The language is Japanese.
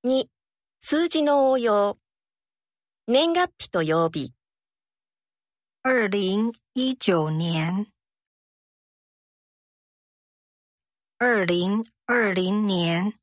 2、数字の応用。年月日と曜日。 2019年2020年